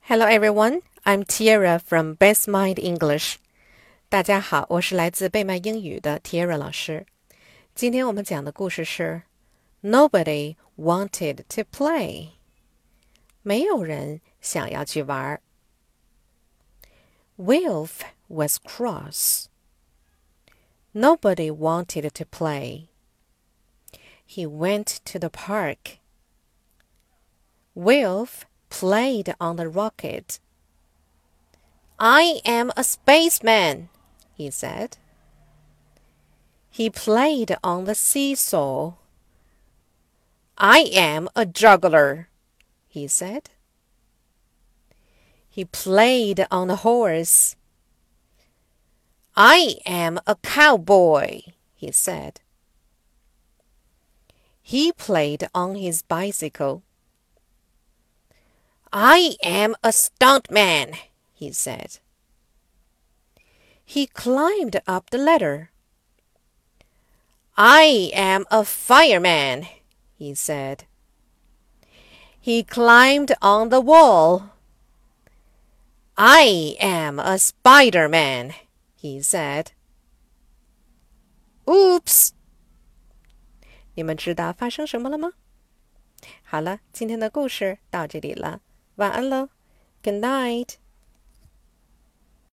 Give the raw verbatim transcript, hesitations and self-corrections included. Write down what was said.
Hello everyone, I'm Tiara from Best Mind English. 大家好，我是来自贝麦英语的 Tiara 老师。今天我们讲的故事是 Nobody wanted to play. 没有人想要去玩。Wilf was cross. Nobody wanted to play. He went to the park. Wilf played on the rocket. I am a spaceman, he said. He played on the seesaw. I am a juggler, he said. He played on the horse. I am a cowboy, he said. He played on his bicycle. I am a stuntman, he said. He climbed up the ladder. I am a fireman, he said. He climbed on the wall. I am a Spider-Man, he said. Oops! 你们知道发生什么了吗？好了，今天的故事到这里了，晚安喽 ，Good night.